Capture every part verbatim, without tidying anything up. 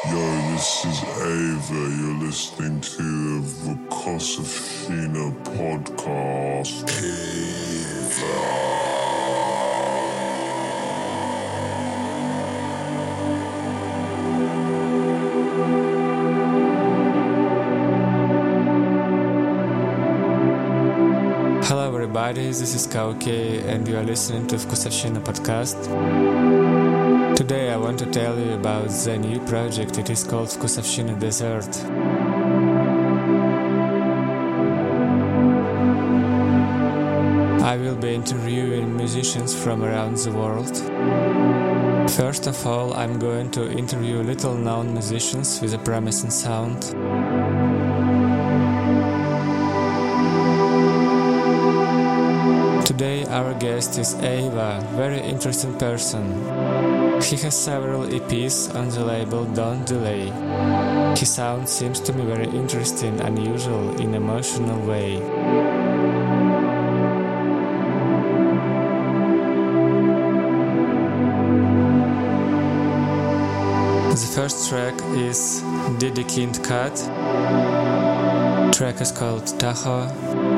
This is Ava. You're listening to the Vukosovshchina podcast. Ava. Hello everybody, this is Kauke and you are listening to Vukosovshchina podcast. Today I want to tell you about the new project. It is called Vukosovshchina Desert. I will be interviewing musicians from around the world. First of all, I'm going to interview little-known musicians with a promising sound. Today our guest is Ava, very interesting person. He has several E Ps on the label Don't Delay. His sound seems to me very interesting, unusual, in an emotional way. The first track is Diddy Kind Cut. The track is called Tahoe.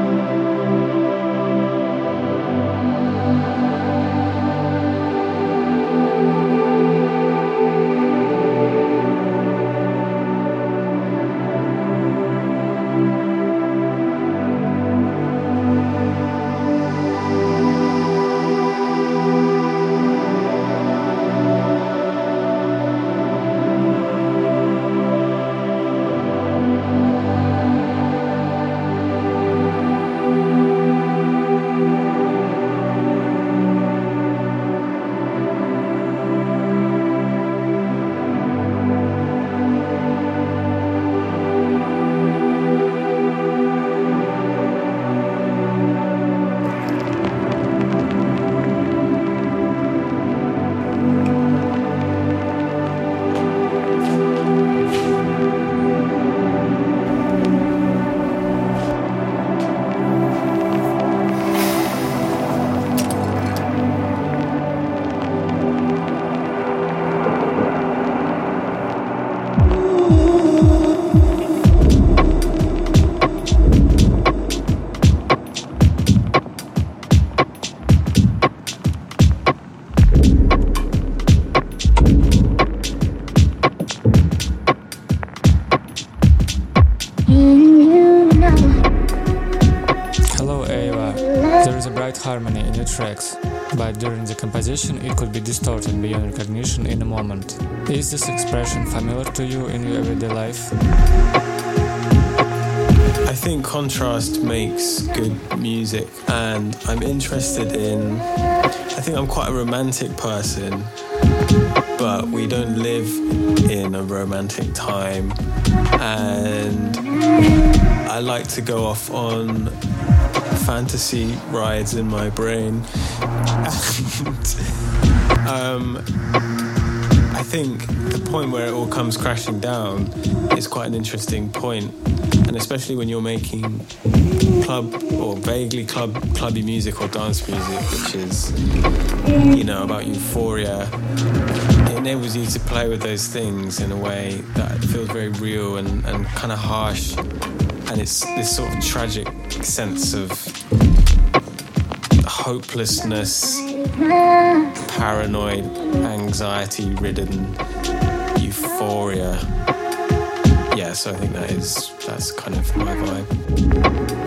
Harmony in your tracks, but during the composition it could be distorted beyond recognition in a moment. Is this expression familiar to you in your everyday life? I think contrast makes good music, and I'm interested in... I think I'm quite a romantic person, but we don't live in a romantic time, and I like to go off on fantasy rides in my brain. And um, I think the point where it all comes crashing down is quite an interesting point, and especially when you're making club or vaguely club clubby music or dance music, which is, you know, about euphoria. It enables you to play with those things in a way that feels very real and, and kind of harsh, and it's this sort of tragic sense of hopelessness, paranoid, anxiety-ridden euphoria. Yeah, so I think that is that's kind of my vibe.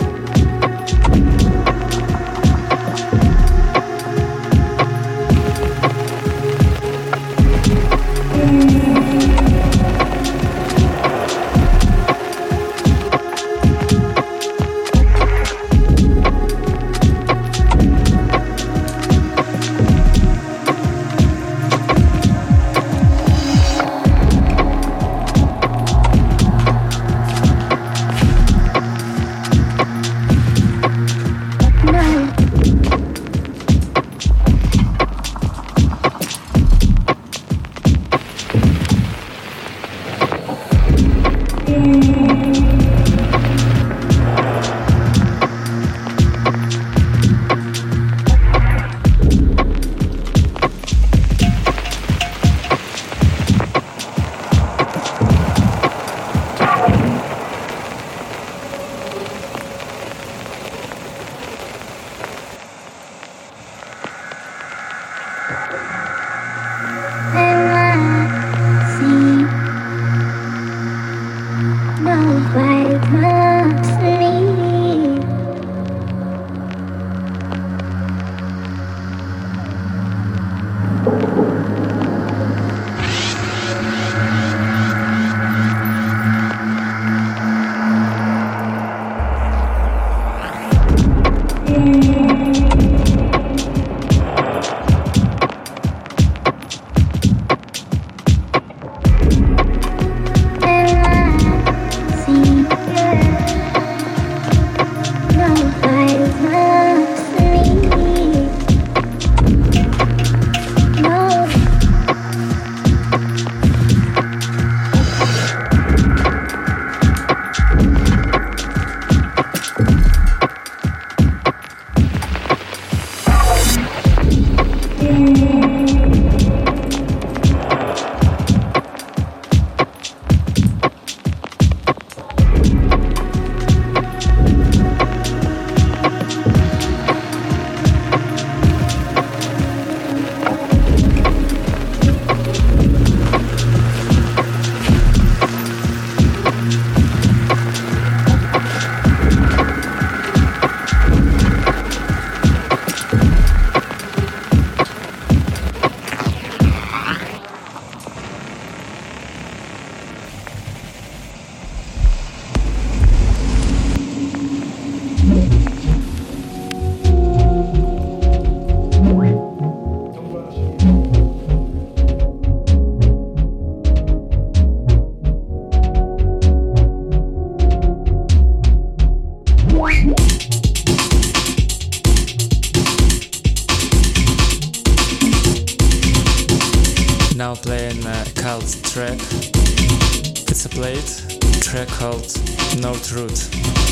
playing a cult track. It's a played track called North Route.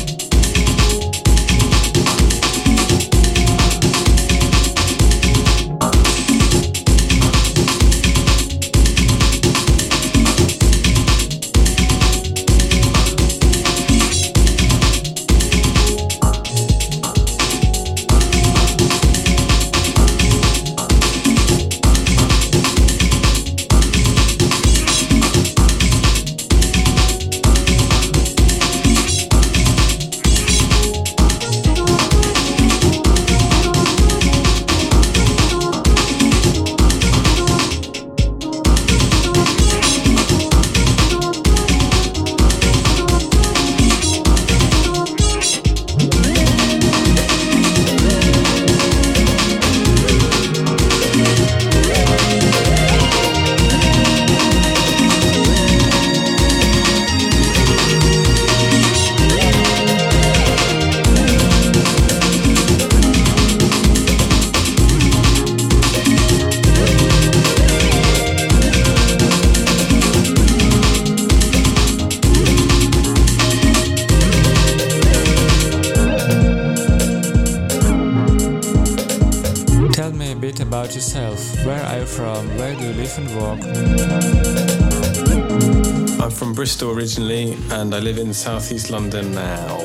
About yourself. Where are you from? Where do you live and work? I'm from Bristol originally and I live in southeast London now.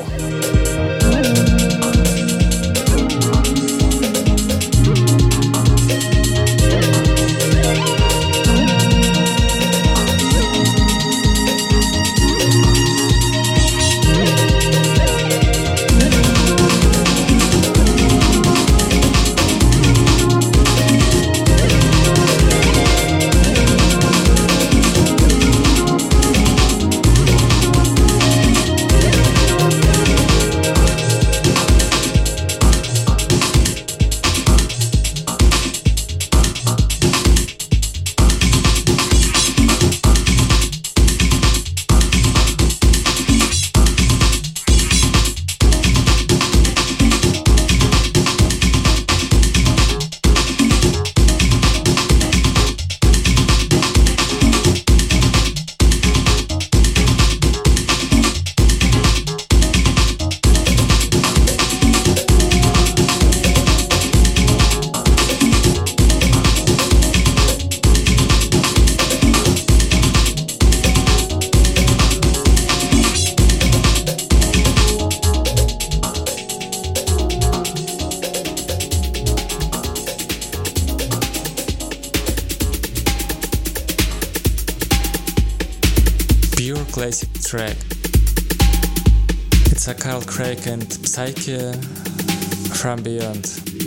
Classic track. It's a Carl Craig and Psyche from Beyond.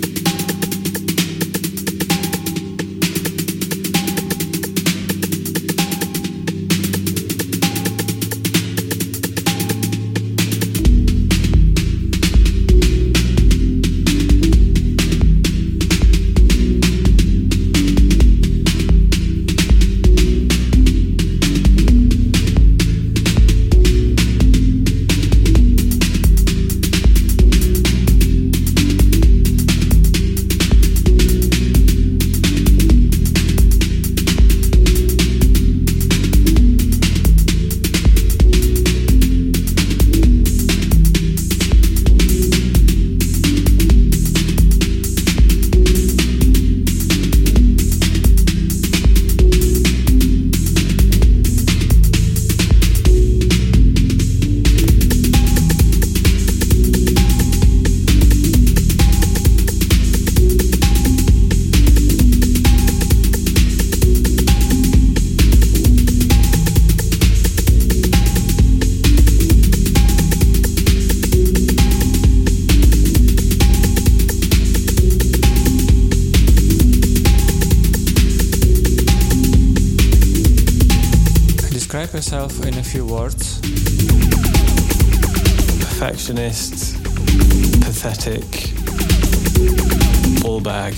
Describe yourself in a few words. Perfectionist, pathetic, ball bag.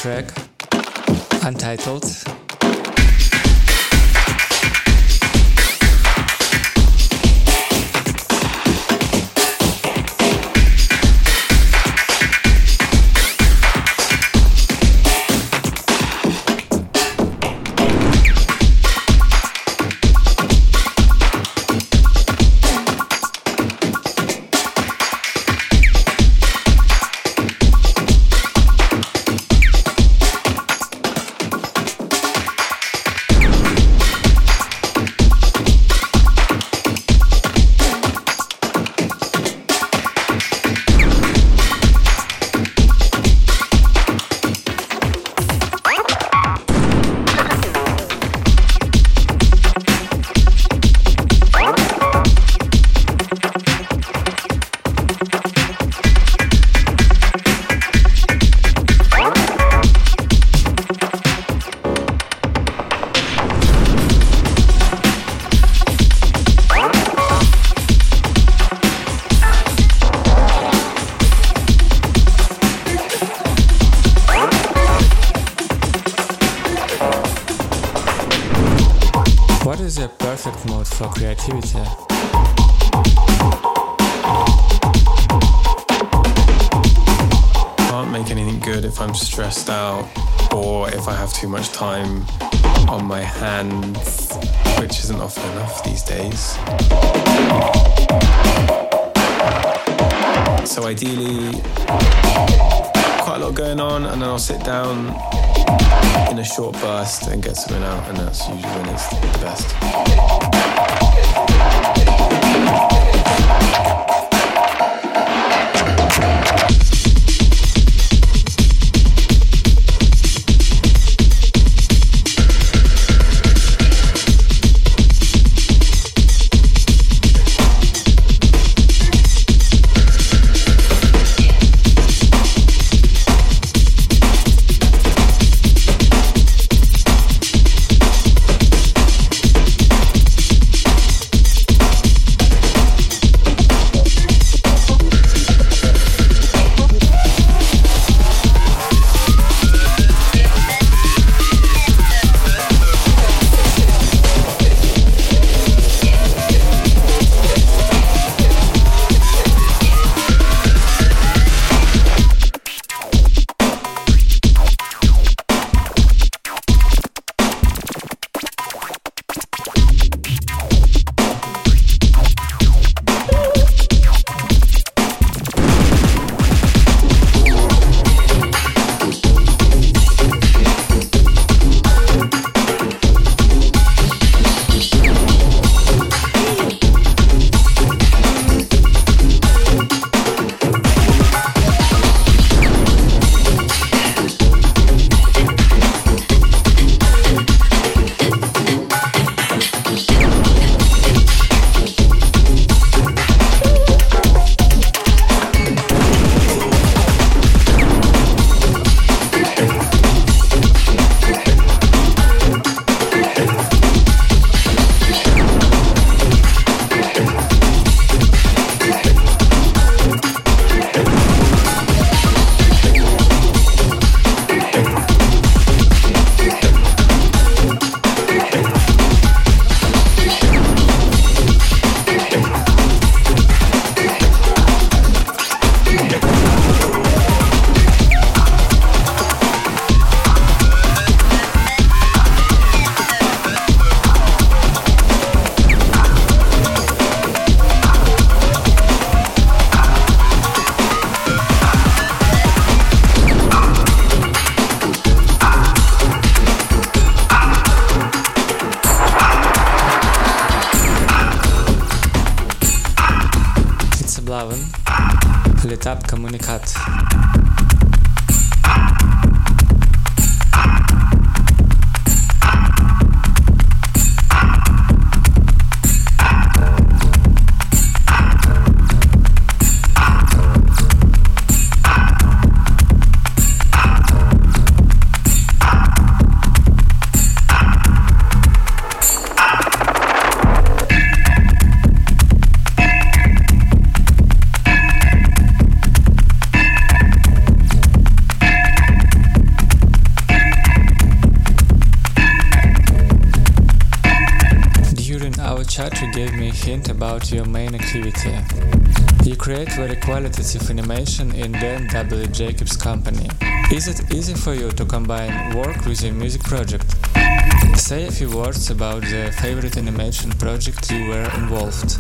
track, Untitled. What is your perfect mode for creativity? Can't make anything good if I'm stressed out or if I have too much time on my hands, which isn't often enough these days. So ideally, quite a lot going on, and then I'll sit down in a short burst and get something out, and that's usually when it's the best. L'etap comunicat. gave me a hint about your main activity. You create very qualitative animation in Dan W. Jacobs' company. Is it easy for you to combine work with a music project? Say a few words about the favorite animation project you were involved.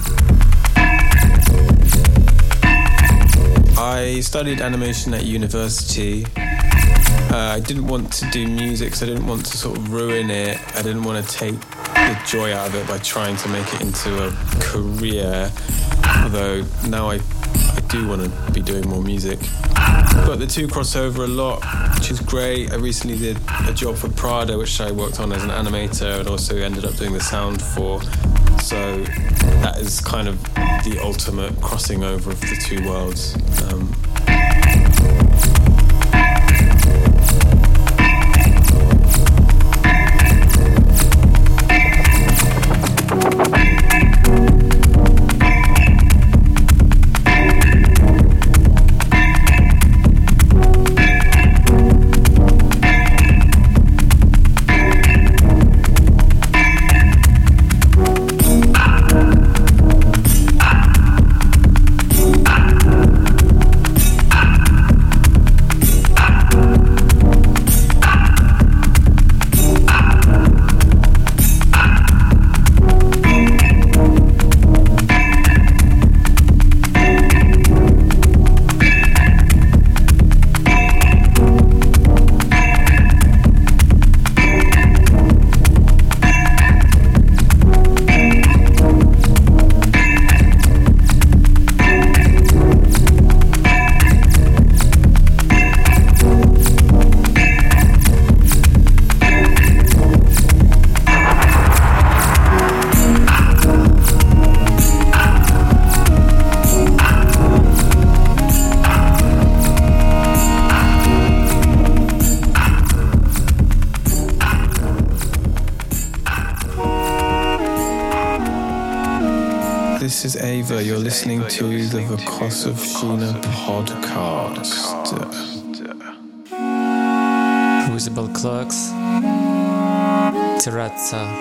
I studied animation at university. Uh, I didn't want to do music, so I didn't want to sort of ruin it. I didn't want to take the joy out of it by trying to make it into a career, although now I, I do want to be doing more music. But the two cross over a lot, which is great. I recently did a job for Prada, which I worked on as an animator and also ended up doing the sound for. So that is kind of the ultimate crossing over of the two worlds. Um, This is Ava. You're listening to the Vukosovshchina podcast. Visible Clocks, Terrazza.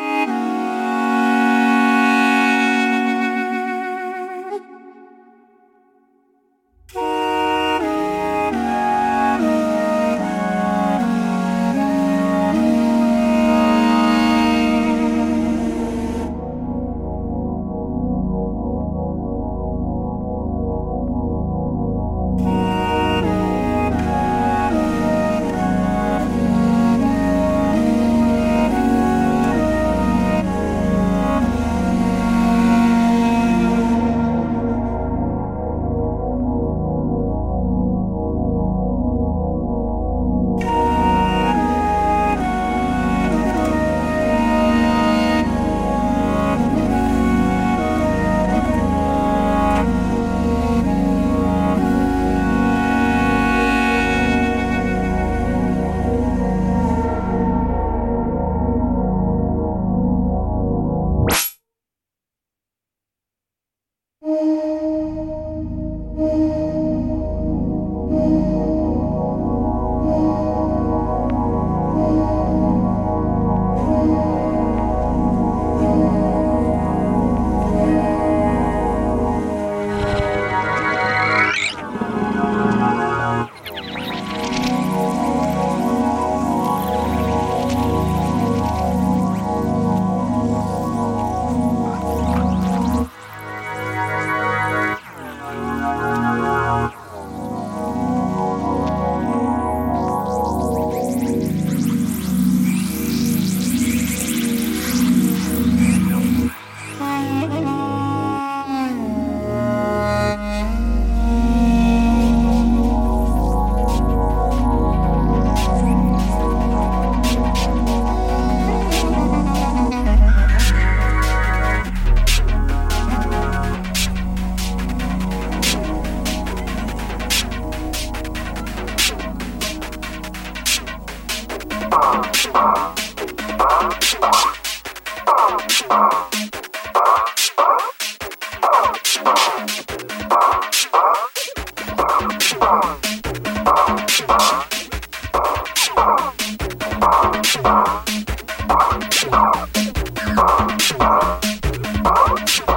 Bye.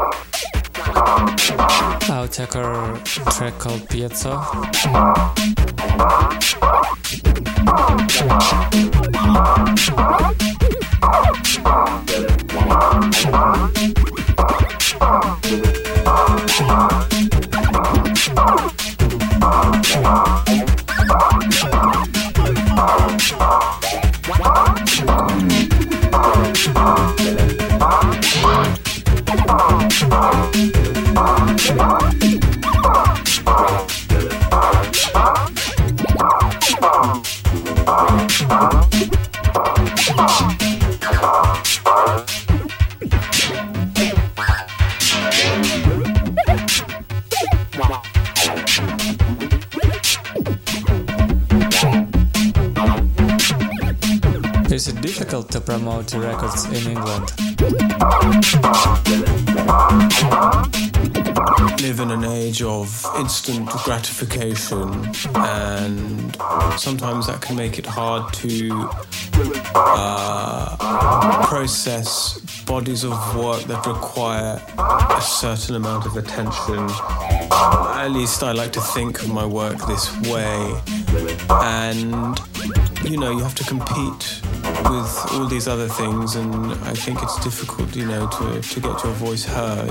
Attacker track called Piezo. Is it difficult to promote records in England? Live in an age of instant gratification, and sometimes that can make it hard to uh, process bodies of work that require a certain amount of attention. At least I like to think of my work this way, and you know, you have to compete with all these other things, and I think it's difficult, you know, to, to get your voice heard.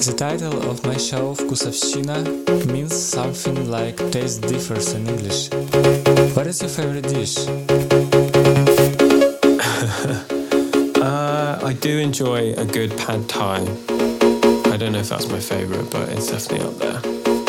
The title of my show, Вкусовщина, means something like taste differs in English. What is your favorite dish? uh, I do enjoy a good pad thai. I don't know if that's my favorite, but it's definitely up there.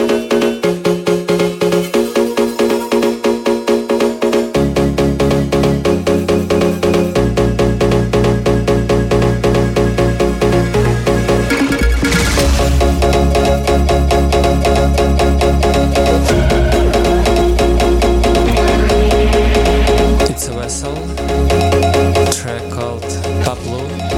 Track called Pablo.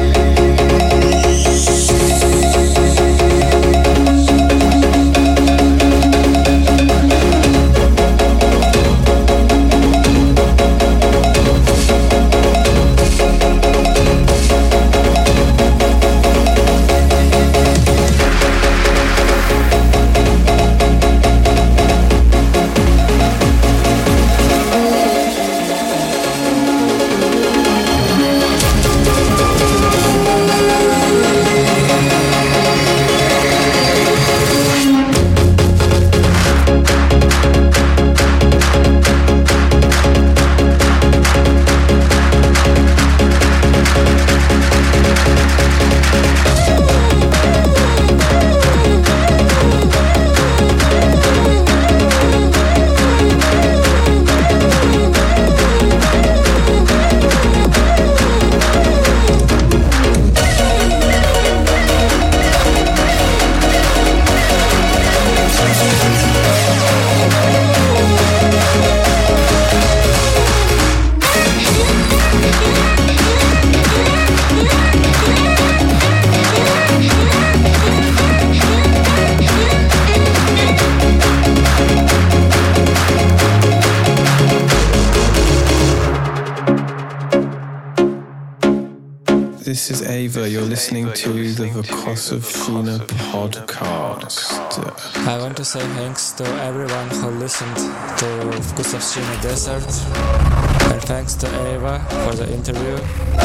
This is Ava. You're listening to the Vykosovщина podcast. I want to say thanks to everyone who listened to Vykosovщина Desert, and thanks to Ava for the interview.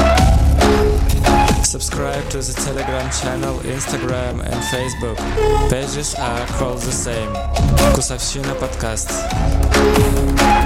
Subscribe to the Telegram channel, Instagram and Facebook. Pages are called the same. Vykosovщина podcast.